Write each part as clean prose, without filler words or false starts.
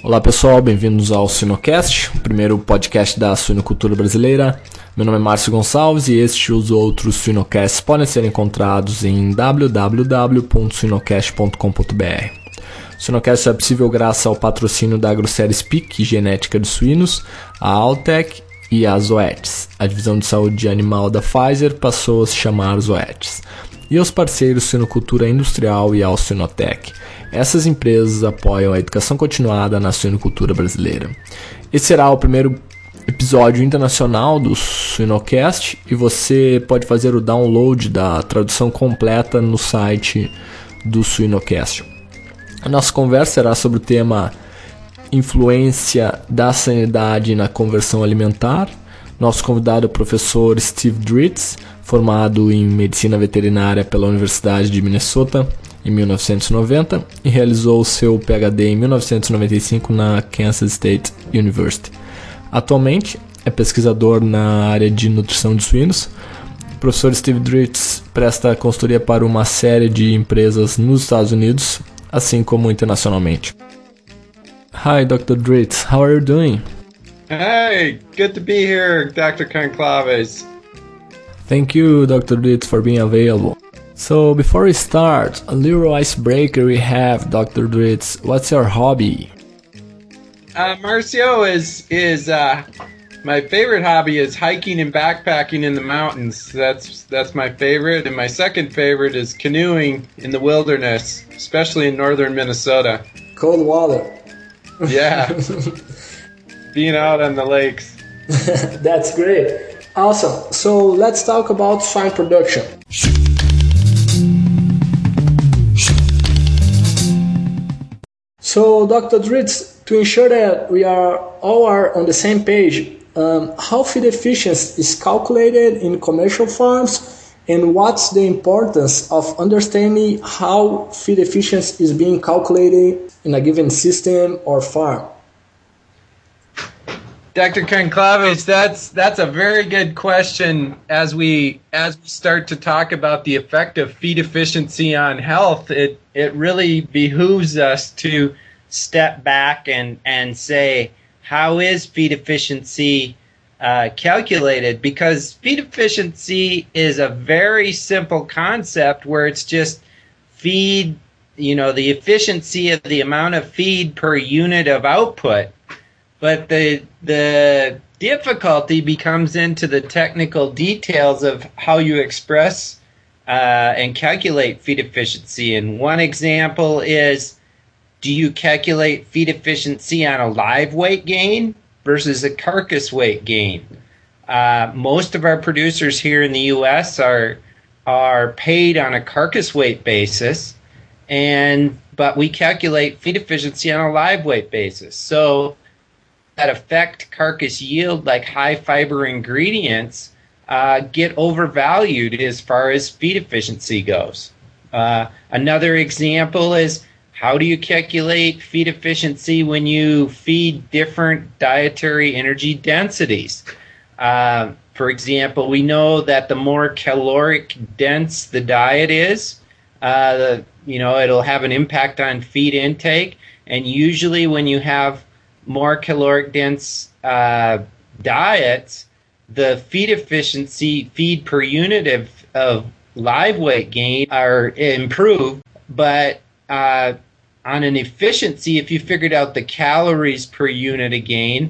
Olá pessoal, bem-vindos ao Suinocast, o primeiro podcast da suinocultura brasileira. Meu nome é Márcio Gonçalves e este e os outros Suinocasts podem ser encontrados em www.suinocast.com.br. O Suinocast é possível graças ao patrocínio da AgroSérie Speak, genética de suínos, a Altec e a Zoetis. A divisão de saúde animal da Pfizer passou a se chamar Zoetis. E aos parceiros Suinocultura Industrial e ao Suinotec. Essas empresas apoiam a educação continuada na suinocultura brasileira. Esse será o primeiro episódio internacional do Suinocast e você pode fazer o download da tradução completa no site do Suinocast. A nossa conversa será sobre o tema influência da sanidade na conversão alimentar. Nosso convidado é o professor Steve Dritz, formado em Medicina Veterinária pela Universidade de Minnesota em 1990 e realizou seu PhD em 1995 na Kansas State University. Atualmente é pesquisador na área de nutrição de suínos. O professor Steve Dritz presta consultoria para uma série de empresas nos Estados Unidos, assim como internacionalmente. Hi, Dr. Dritz, how are you doing? Hey, good to be here, Dr. Conclaves. Thank you, Dr. Dritz, for being available. So, before we start, a little icebreaker we have, Dr. Dritz. What's your hobby? Marcio is my favorite hobby is hiking and backpacking in the mountains. That's my favorite, and my second favorite is canoeing in the wilderness, especially in northern Minnesota. Cold water. Yeah, being out on the lakes. That's great. Awesome. So let's talk about swine production. So, Dr. Dritz, to ensure that we are all on the same page, how feed efficiency is calculated in commercial farms, and what's the importance of understanding how feed efficiency is being calculated in a given system or farm? Dr. Conclaves, that's a very good question. As we start to talk about the effect of feed efficiency on health, it really behooves us to step back and say, how is feed efficiency calculated? Because feed efficiency is a very simple concept where it's just feed, the efficiency of the amount of feed per unit of output. But the difficulty becomes into the technical details of how you express and calculate feed efficiency. And one example is, do you calculate feed efficiency on a live weight gain versus a carcass weight gain? Most of our producers here in the U.S. are paid on a carcass weight basis, but we calculate feed efficiency on a live weight basis. So that affect carcass yield, like high fiber ingredients, get overvalued as far as feed efficiency goes. Another example is, how do you calculate feed efficiency when you feed different dietary energy densities? For example, we know that the more caloric dense the diet is, it'll have an impact on feed intake. And usually when you have more caloric dense diets, the feed efficiency, feed per unit of live weight gain are improved. But on an efficiency, if you figured out the calories per unit of gain,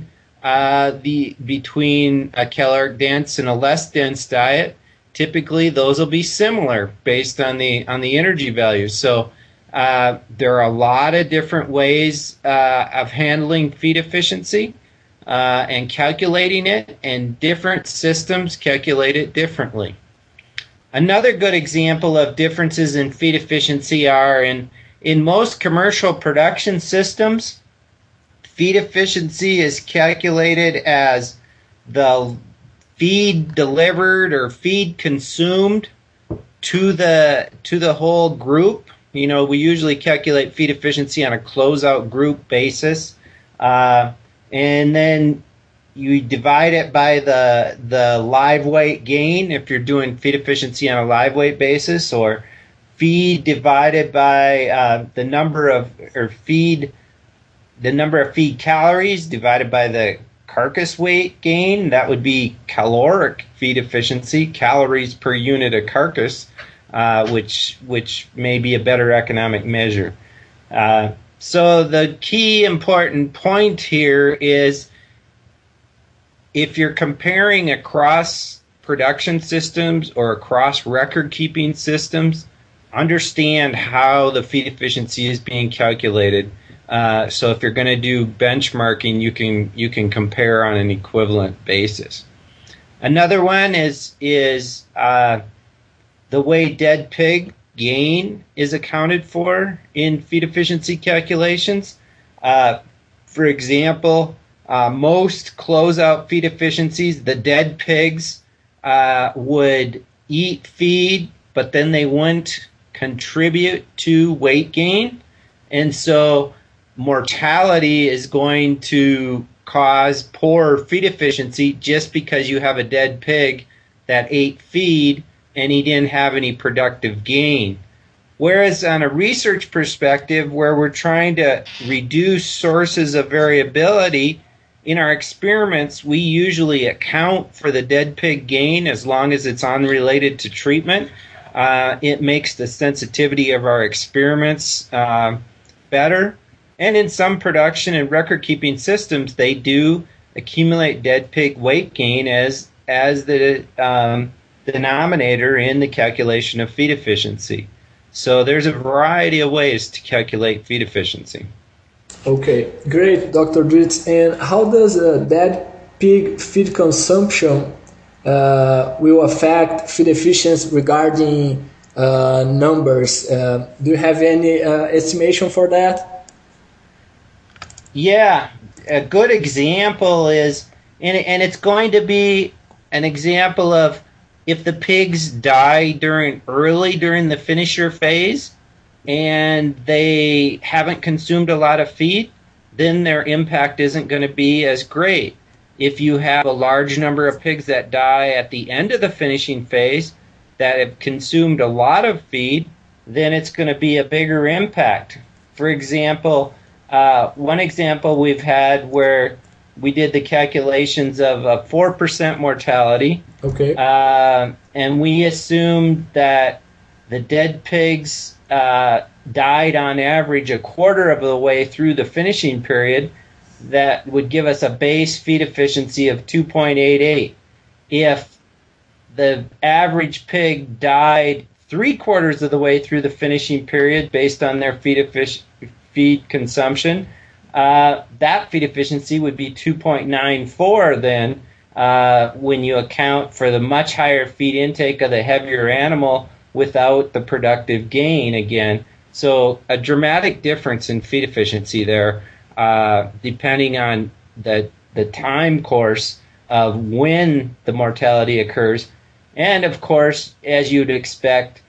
between a caloric dense and a less dense diet, typically those will be similar based on the energy values. So there are a lot of different ways of handling feed efficiency and calculating it, and different systems calculate it differently. Another good example of differences in feed efficiency are in most commercial production systems, feed efficiency is calculated as the feed delivered or feed consumed to the whole group. We usually calculate feed efficiency on a closeout group basis, and then you divide it by the live weight gain if you're doing feed efficiency on a live weight basis, or feed divided by the number of, or feed the number of feed calories divided by the carcass weight gain. That would be caloric feed efficiency, calories per unit of carcass, which may be a better economic measure. So the key important point here is if you're comparing across production systems or across record-keeping systems, understand how the feed efficiency is being calculated. So if you're going to do benchmarking, you can compare on an equivalent basis. Another one is the way dead pig gain is accounted for in feed efficiency calculations. For example, most closeout feed efficiencies, the dead pigs would eat feed, but then they wouldn't contribute to weight gain. And so mortality is going to cause poor feed efficiency just because you have a dead pig that ate feed and he didn't have any productive gain. Whereas on a research perspective, where we're trying to reduce sources of variability, in our experiments, we usually account for the dead pig gain as long as it's unrelated to treatment. It makes the sensitivity of our experiments better. And in some production and record-keeping systems, they do accumulate dead pig weight gain as the denominator in the calculation of feed efficiency. So there's a variety of ways to calculate feed efficiency. Okay, great, Dr. Dritz. And how does dead pig feed consumption will affect feed efficiency regarding numbers? Do you have any estimation for that? Yeah, a good example is, and it's going to be an example of if the pigs die early during the finisher phase and they haven't consumed a lot of feed, then their impact isn't going to be as great. If you have a large number of pigs that die at the end of the finishing phase that have consumed a lot of feed, then it's going to be a bigger impact. For example, one example we've had where we did the calculations of a 4% mortality. Okay. And we assumed that the dead pigs died on average a quarter of the way through the finishing period. That would give us a base feed efficiency of 2.88. If the average pig died 3/4 of the way through the finishing period based on their feed consumption, that feed efficiency would be 2.94 then when you account for the much higher feed intake of the heavier animal without the productive gain again. So a dramatic difference in feed efficiency there, depending on the time course of when the mortality occurs. And of course, as you'd expect,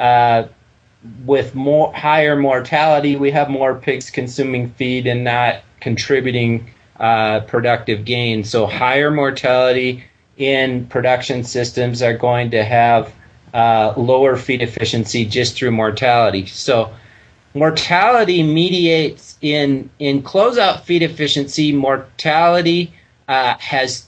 with higher mortality, we have more pigs consuming feed and not contributing productive gain. So higher mortality in production systems are going to have lower feed efficiency just through mortality. So mortality mediates in closeout feed efficiency. Mortality has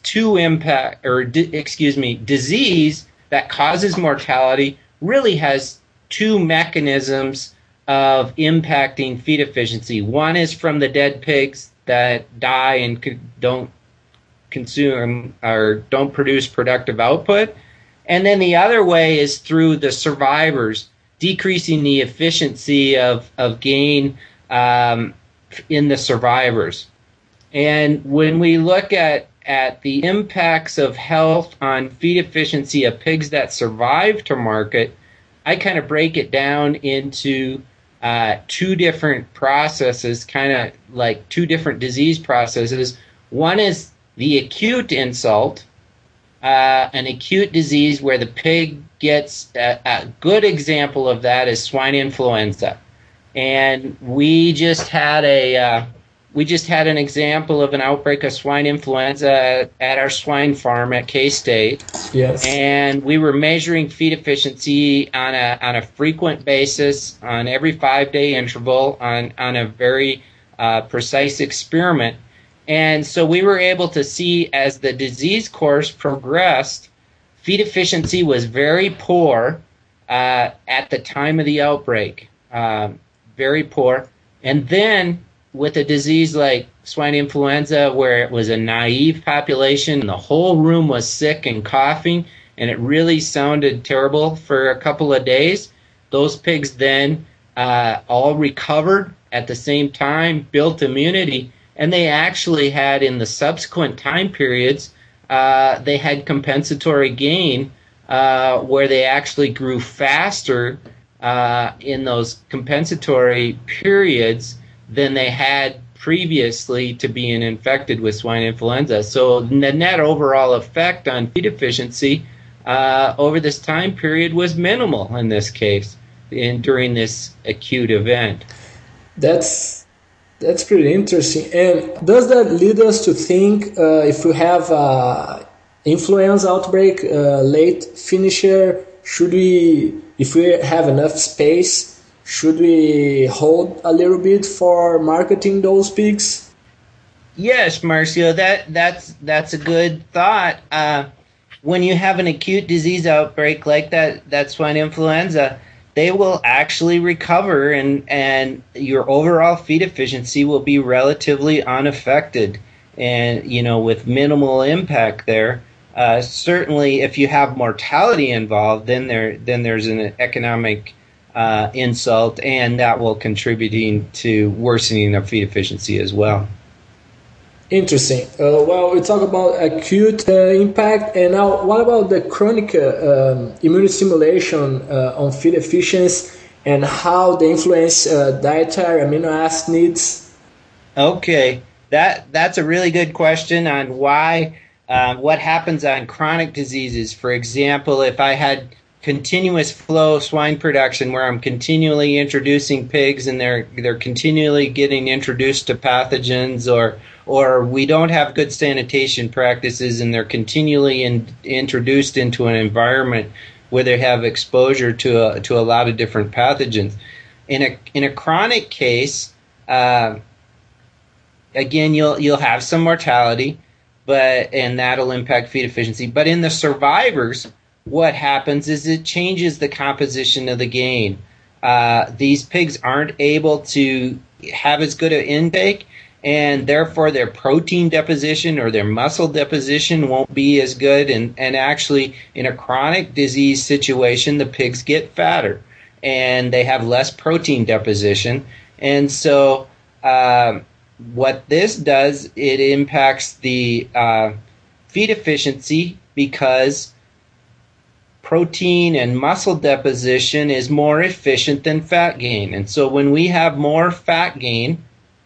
disease that causes mortality really has two mechanisms of impacting feed efficiency. One is from the dead pigs that die and don't consume or don't produce productive output. And then the other way is through the survivors, decreasing the efficiency of gain in the survivors. And when we look at the impacts of health on feed efficiency of pigs that survive to market, I kind of break it down into two different processes, kind of like two different disease processes. One is the acute insult, an acute disease where the pig gets a good example of that is swine influenza. And we just had an example of an outbreak of swine influenza at our swine farm at K-State. Yes. And we were measuring feed efficiency on a frequent basis, on every 5-day interval, on a very precise experiment. And so we were able to see as the disease course progressed, feed efficiency was very poor at the time of the outbreak, very poor. And then with a disease like swine influenza, where it was a naive population, and the whole room was sick and coughing, and it really sounded terrible for a couple of days, those pigs then all recovered at the same time, built immunity, and they actually had, in the subsequent time periods, they had compensatory gain where they actually grew faster in those compensatory periods than they had previously to being infected with swine influenza. So the net overall effect on feed efficiency over this time period was minimal in this case during this acute event. That's pretty interesting. And does that lead us to think if we have influenza outbreak late finisher, should we, if we have enough space, should we hold a little bit for marketing those pigs? Yes, Marcio, that's a good thought. When you have an acute disease outbreak like that swine influenza, they will actually recover, and your overall feed efficiency will be relatively unaffected, and with minimal impact there. Certainly, if you have mortality involved, then there's an economic insult, and that will contributing to worsening of feed efficiency as well. Interesting. Well, we talk about acute impact, and now what about the chronic immunostimulation on feed efficiency, and how they influence dietary amino acid needs? Okay, that's a really good question on why what happens on chronic diseases. For example, if I had continuous flow swine production where I'm continually introducing pigs and they're continually getting introduced to pathogens, or we don't have good sanitation practices and they're continually introduced into an environment where they have exposure to a lot of different pathogens. In a chronic case, again, you'll have some mortality, and that'll impact feed efficiency. But in the survivors, what happens is it changes the composition of the gain. These pigs aren't able to have as good an intake, and therefore their protein deposition or their muscle deposition won't be as good. And actually, in a chronic disease situation, the pigs get fatter, and they have less protein deposition. And so what this does, it impacts the feed efficiency because protein and muscle deposition is more efficient than fat gain. And so when we have more fat gain,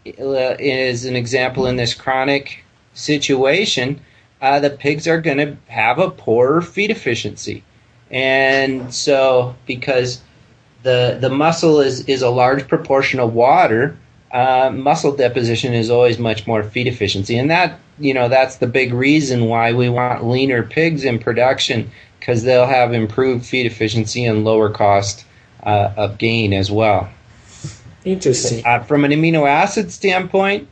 is an example in this chronic situation, the pigs are going to have a poorer feed efficiency. And so because the muscle is a large proportion of water, muscle deposition is always much more feed efficiency. And that's the big reason why we want leaner pigs in production, because they'll have improved feed efficiency and lower cost of gain as well. Interesting. From an amino acid standpoint,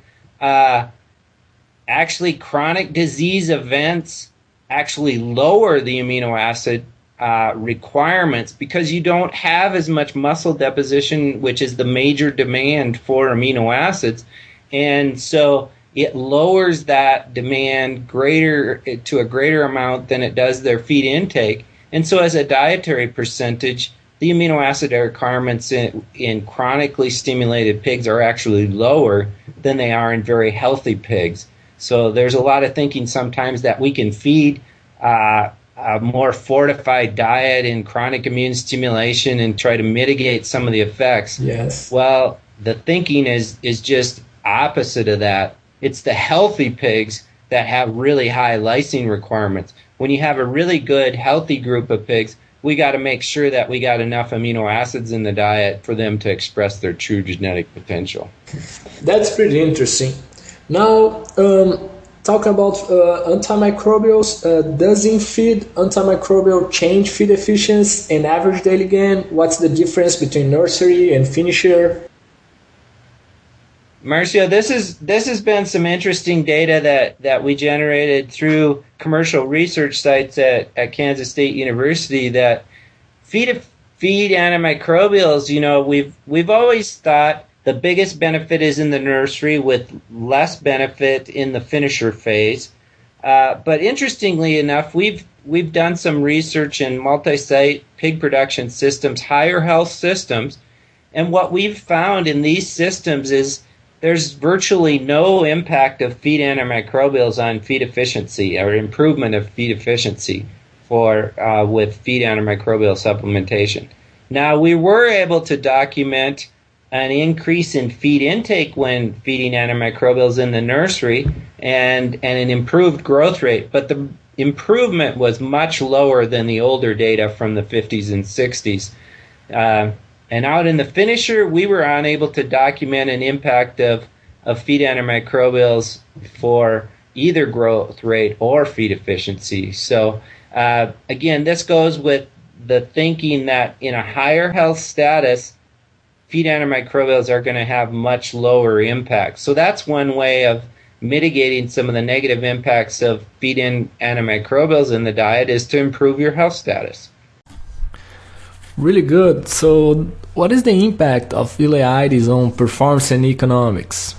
actually chronic disease events actually lower the amino acid requirements because you don't have as much muscle deposition, which is the major demand for amino acids. And so it lowers that demand to a greater amount than it does their feed intake. And so as a dietary percentage, the amino acid requirements in chronically stimulated pigs are actually lower than they are in very healthy pigs. So there's a lot of thinking sometimes that we can feed a more fortified diet in chronic immune stimulation and try to mitigate some of the effects. Yes. Well, the thinking is just opposite of that. It's the healthy pigs that have really high lysine requirements. When you have a really good, healthy group of pigs, we got to make sure that we got enough amino acids in the diet for them to express their true genetic potential. That's pretty interesting. Now, talking about antimicrobials, does in-feed antimicrobial change feed efficiency and average daily gain? What's the difference between nursery and finisher? Marcio, this has been some interesting data that we generated through commercial research sites at Kansas State University that feed antimicrobials, we've always thought the biggest benefit is in the nursery with less benefit in the finisher phase. But interestingly enough, we've done some research in multi-site pig production systems, higher health systems, and what we've found in these systems is there's virtually no impact of feed antimicrobials on feed efficiency or improvement of feed efficiency with feed antimicrobial supplementation. Now, we were able to document an increase in feed intake when feeding antimicrobials in the nursery and an improved growth rate, but the improvement was much lower than the older data from the 50s and 60s. And out in the finisher, we were unable to document an impact of feed antimicrobials for either growth rate or feed efficiency. So again, this goes with the thinking that in a higher health status, feed antimicrobials are going to have much lower impact. So that's one way of mitigating some of the negative impacts of feed-in antimicrobials in the diet is to improve your health status. Really good. So what is the impact of ileitis on performance and economics?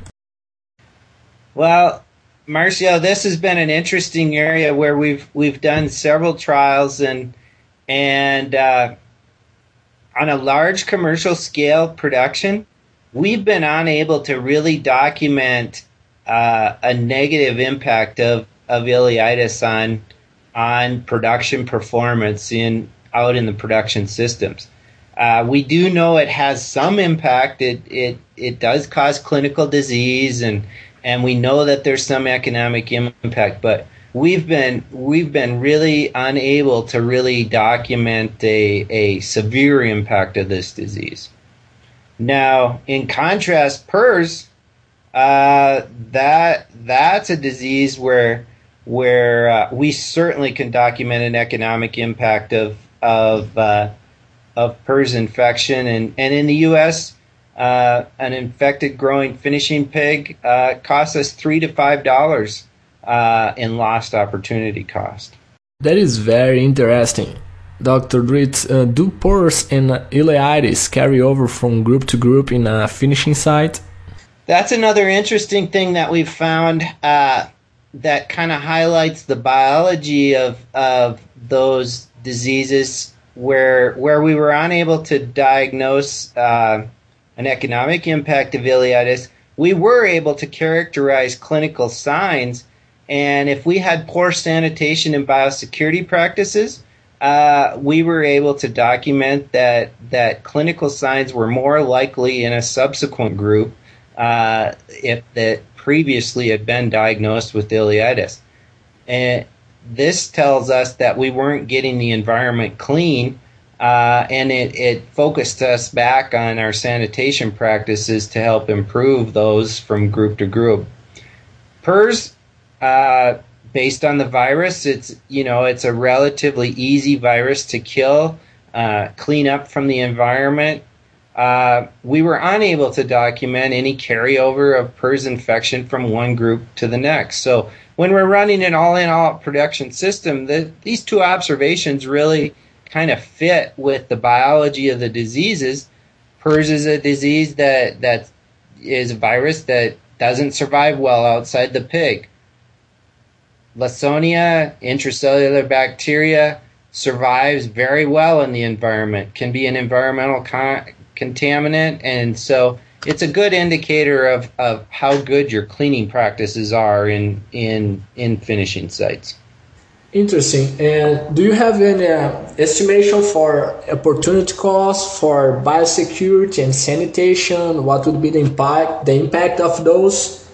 Well, Marcio, this has been an interesting area where we've done several trials and on a large commercial scale production, we've been unable to really document a negative impact of ileitis on production performance out in the production systems. We do know it has some impact. It does cause clinical disease, and we know that there's some economic impact, but we've been really unable to really document a severe impact of this disease. Now, in contrast, PRRS, that's a disease where we certainly can document an economic impact of PRRS infection, and in the U.S., an infected growing finishing pig costs us $3 to $5 in lost opportunity cost. That is very interesting. Dr. Dritz, do PRRS and ileitis carry over from group to group in a finishing site? That's another interesting thing that we've found that kind of highlights the biology of those diseases where we were unable to diagnose an economic impact of ileitis. We were able to characterize clinical signs, and if we had poor sanitation and biosecurity practices, we were able to document that clinical signs were more likely in a subsequent group if that previously had been diagnosed with ileitis. And this tells us that we weren't getting the environment clean, and it focused us back on our sanitation practices to help improve those from group to group. PRRS, based on the virus, it's a relatively easy virus to kill, clean up from the environment. We were unable to document any carryover of PRRS infection from one group to the next. So when we're running an all-in-all production system, these two observations really kind of fit with the biology of the diseases. PRRS is a disease that is a virus that doesn't survive well outside the pig. Lawsonia, intracellular bacteria, survives very well in the environment, can be an environmental contaminant, and so it's a good indicator of how good your cleaning practices are in finishing sites. Interesting. And do you have any estimation for opportunity costs for biosecurity and sanitation? What would be the impact of those?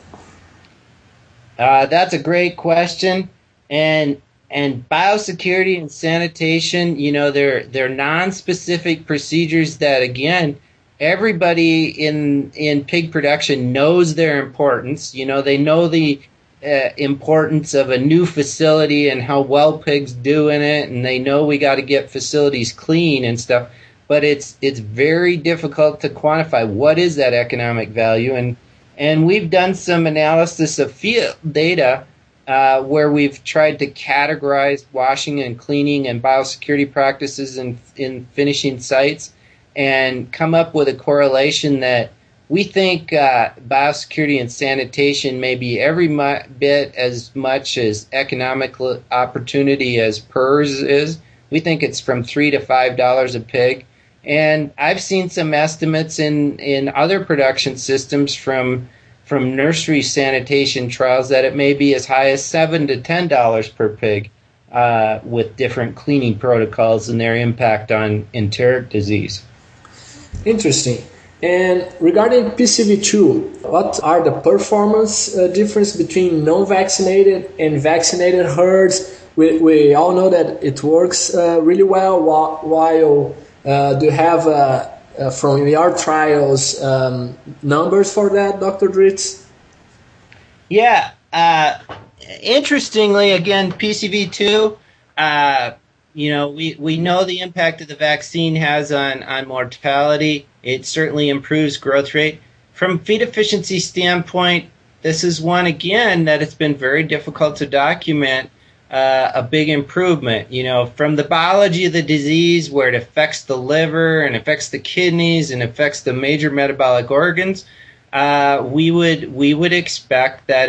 That's a great question. And biosecurity and sanitation, they're non-specific procedures that, again, everybody in pig production knows their importance. They know the importance of a new facility and how well pigs do in it, and they know we got to get facilities clean and stuff. But it's very difficult to quantify what is that economic value, And we've done some analysis of field data where we've tried to categorize washing and cleaning and biosecurity practices in finishing sites and come up with a correlation that we think biosecurity and sanitation may be every bit as much as economic opportunity as PERS is. We think it's from $3 to $5 a pig. And I've seen some estimates in other production systems from nursery sanitation trials that it may be as high as $7 to $10 per pig with different cleaning protocols and their impact on enteric disease. Interesting. And regarding PCV2, what are the performance difference between non-vaccinated and vaccinated herds? We all know that it works really well, while do you have, from your trials, numbers for that, Dr. Dritz? Yeah. Interestingly, again, PCV2, we know the impact that the vaccine has on mortality. It certainly improves growth rate. From feed efficiency standpoint, this is one, again, that it's been very difficult to document a big improvement. From the biology of the disease, where it affects the liver and affects the kidneys and affects the major metabolic organs, we would expect that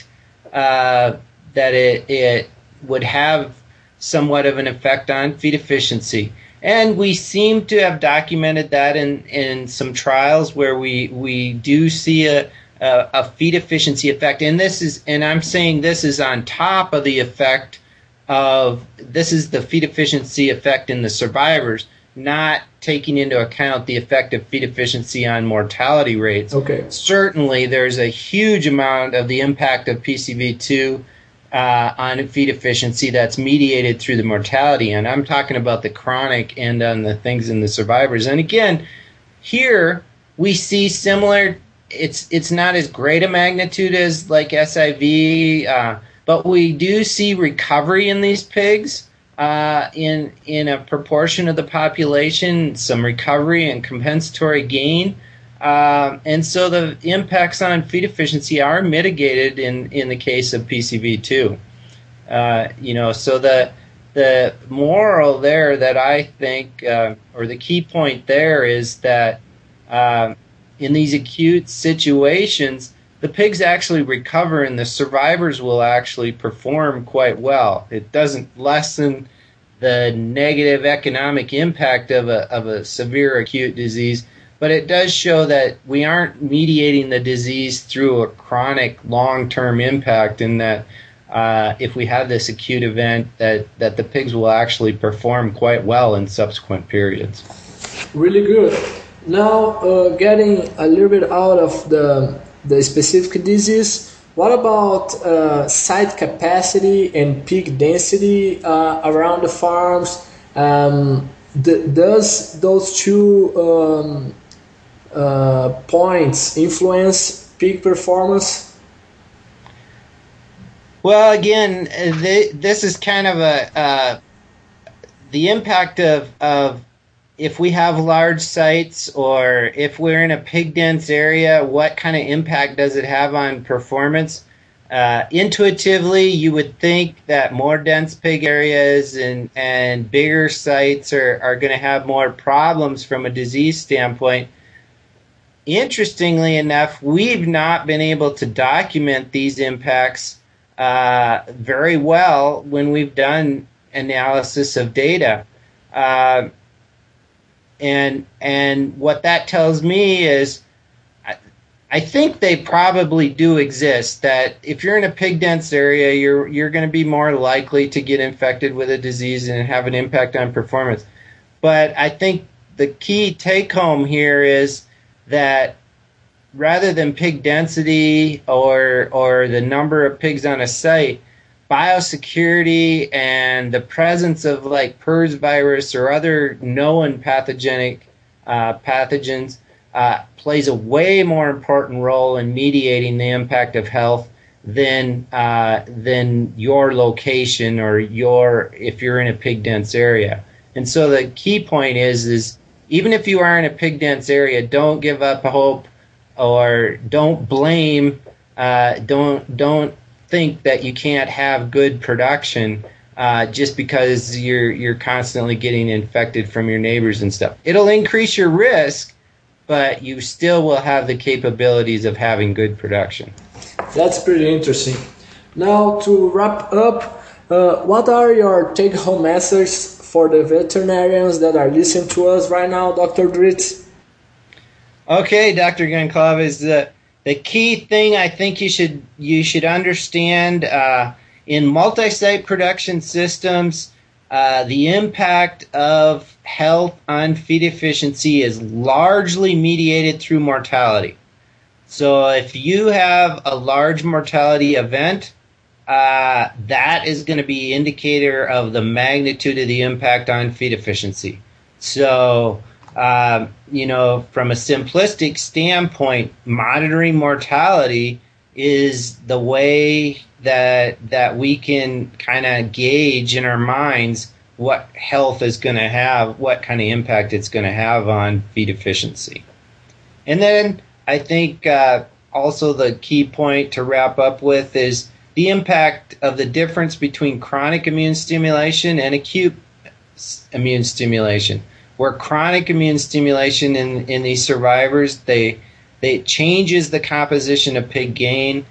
it would have somewhat of an effect on feed efficiency. And we seem to have documented that in some trials where we do see a feed efficiency effect. And I'm saying this is on top of the effect this is the feed efficiency effect in the survivors, not taking into account the effect of feed efficiency on mortality rates. Okay. Certainly, there's a huge amount of the impact of PCV2 on feed efficiency that's mediated through the mortality. And I'm talking about the chronic and on the things in the survivors. And again, here we see similar, it's not as great a magnitude as like SIV, but we do see recovery in these pigs in a proportion of the population, some recovery and compensatory gain. And so the impacts on feed efficiency are mitigated in the case of PCV2. So the moral there that I think, or the key point there is that in these acute situations, the pigs actually recover and the survivors will actually perform quite well. It doesn't lessen the negative economic impact of a severe acute disease, but it does show that we aren't mediating the disease through a chronic long-term impact, and that if we have this acute event, that the pigs will actually perform quite well in subsequent periods. Really good. Now, getting a little bit out of the specific disease, what about site capacity and pig density around the farms? Does those two points influence pig performance? Well, again, this is kind of the impact of if we have large sites or if we're in a pig dense area, what kind of impact does it have on performance? Intuitively, you would think that more dense pig areas and bigger sites are going to have more problems from a disease standpoint. Interestingly enough, we've not been able to document these impacts very well when we've done analysis of data. And what that tells me is I think they probably do exist, that if you're in a pig dense area, you're going to be more likely to get infected with a disease and have an impact on performance. But I think the key take home here is that rather than pig density or the number of pigs on a site, biosecurity and the presence of like PERS virus or other known pathogenic pathogens plays a way more important role in mediating the impact of health than your location or if you're in a pig dense area. And so the key point is even if you are in a pig dense area, don't give up hope or don't blame, don't think that you can't have good production just because you're constantly getting infected from your neighbors and stuff. It'll increase your risk, but you still will have the capabilities of having good production. That's pretty interesting. Now, to wrap up, what are your take-home messages for the veterinarians that are listening to us right now, Dr. Dritz? Okay, Dr. Goncalves, the key thing I think you should understand in multi-site production systems, the impact of health on feed efficiency is largely mediated through mortality. So if you have a large mortality event, that is going to be an indicator of the magnitude of the impact on feed efficiency. So, from a simplistic standpoint, monitoring mortality is the way that we can kind of gauge in our minds what health is going to have, what kind of impact it's going to have on feed efficiency. And then I think also the key point to wrap up with is the impact of the difference between chronic immune stimulation and acute immune stimulation. Where chronic immune stimulation in these survivors, they changes the composition of pig gain,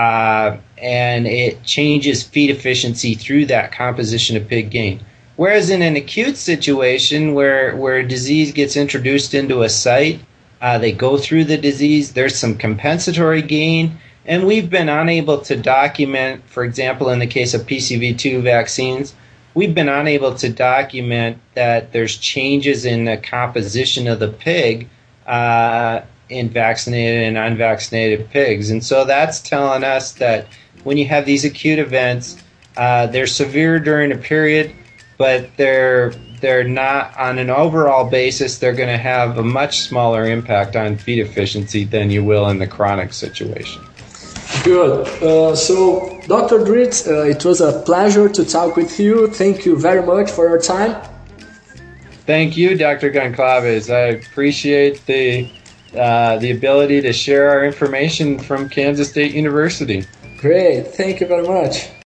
and it changes feed efficiency through that composition of pig gain. Whereas in an acute situation where a disease gets introduced into a site, they go through the disease, there's some compensatory gain, and we've been unable to document, for example, in the case of PCV2 vaccines, we've been unable to document that there's changes in the composition of the pig in vaccinated and unvaccinated pigs. And so that's telling us that when you have these acute events, they're severe during a period, but they're not, on an overall basis, they're going to have a much smaller impact on feed efficiency than you will in the chronic situation. Good. So, Dr. Dritz, it was a pleasure to talk with you. Thank you very much for your time. Thank you, Dr. Goncalves. I appreciate the ability to share our information from Kansas State University. Great. Thank you very much.